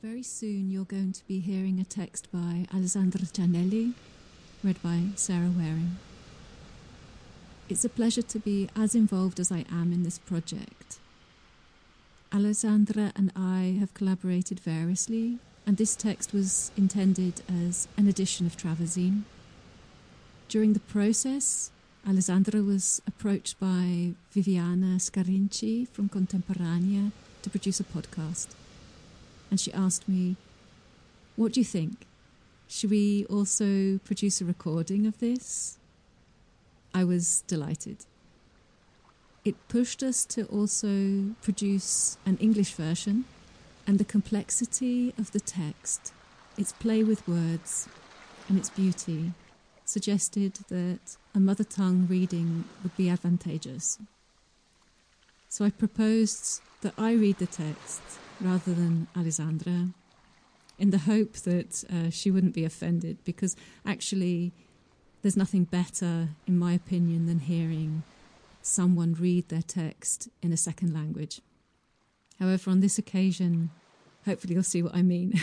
Very soon you're going to be hearing a text by Alessandra Giannelli, read by Sarah Waring. It's a pleasure to be as involved as I am in this project. Alessandra and I have collaborated variously, and this text was intended as an edition of Traversine. During the process, Alessandra was approached by Viviana Scarinci from Contemporanea to produce a podcast. And she asked me, "What do you think? Should we also produce a recording of this?" I was delighted. It pushed us to also produce an English version, and the complexity of the text, its play with words, and its beauty suggested that a mother tongue reading would be advantageous. So I proposed that I read the text rather than Alessandra, in the hope that she wouldn't be offended, because actually there's nothing better, in my opinion, than hearing someone read their text in a second language. However, on this occasion, hopefully you'll see what I mean.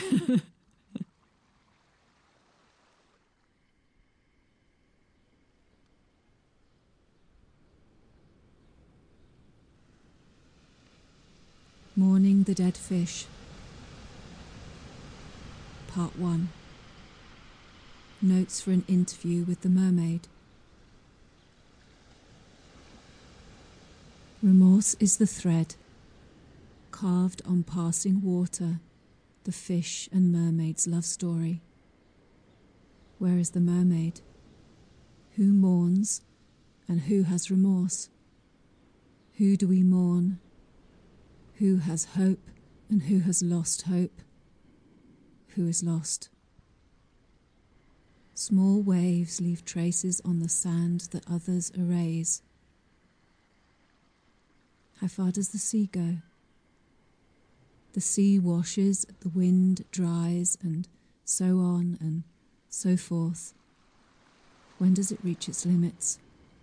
Mourning the Dead Fish. Part 1. Notes for an interview with the mermaid. Remorse is the thread, carved on passing water, the fish and mermaid's love story. Where is the mermaid? Who mourns and who has remorse? Who do we mourn? Who has hope and who has lost hope? Who is lost? Small waves leave traces on the sand that others erase. How far does the sea go? The sea washes, the wind dries, and so on and so forth. When does it reach its limits?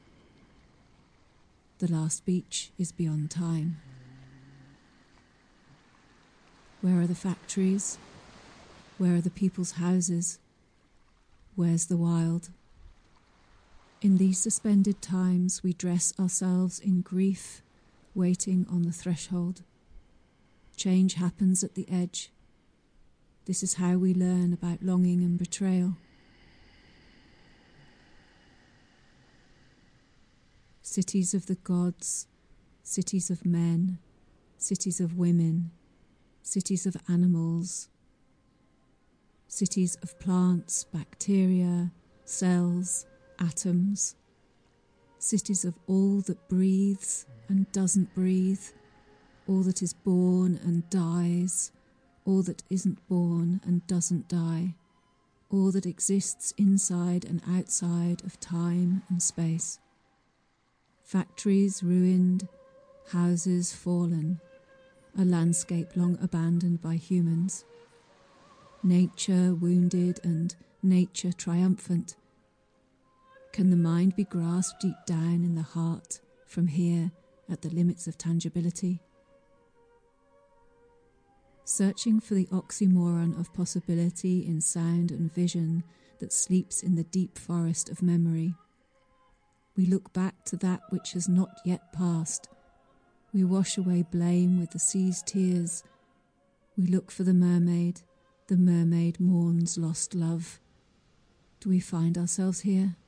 The last beach is beyond time. Where are the factories? Where are the people's houses? Where's the wild? In these suspended times we dress ourselves in grief, waiting on the threshold. Change happens at the edge. This is how we learn about longing and betrayal. Cities of the gods, cities of men, cities of women, cities of animals, cities of plants, bacteria, cells, atoms, cities of all that breathes and doesn't breathe, all that is born and dies, all that isn't born and doesn't die, all that exists inside and outside of time and space. Factories ruined, houses fallen, a landscape long abandoned by humans. Nature wounded and nature triumphant. Can the mind be grasped deep down in the heart from here at the limits of tangibility? Searching for the oxymoron of possibility in sound and vision that sleeps in the deep forest of memory. We look back to that which has not yet passed. We wash away blame with the sea's tears. We look for the mermaid mourns lost love. Do we find ourselves here?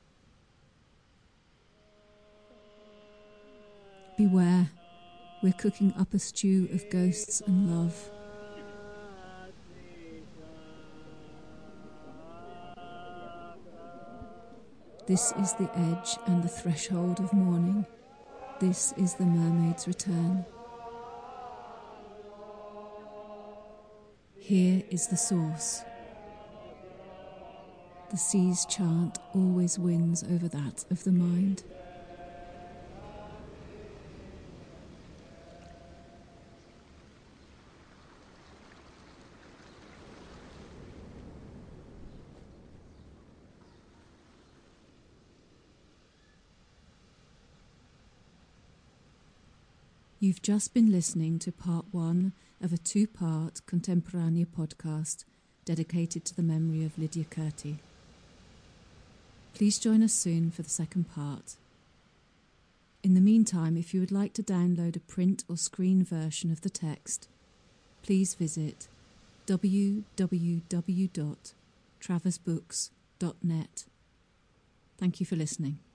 Beware, we're cooking up a stew of ghosts and love. This is the edge and the threshold of mourning. This is the mermaid's return. Here is the source. The sea's chant always wins over that of the mind. You've just been listening to part 1 of a 2-part Contemporanea podcast dedicated to the memory of Lydia Curti. Please join us soon for the second part. In the meantime, if you would like to download a print or screen version of the text, please visit www.traversbooks.net. Thank you for listening.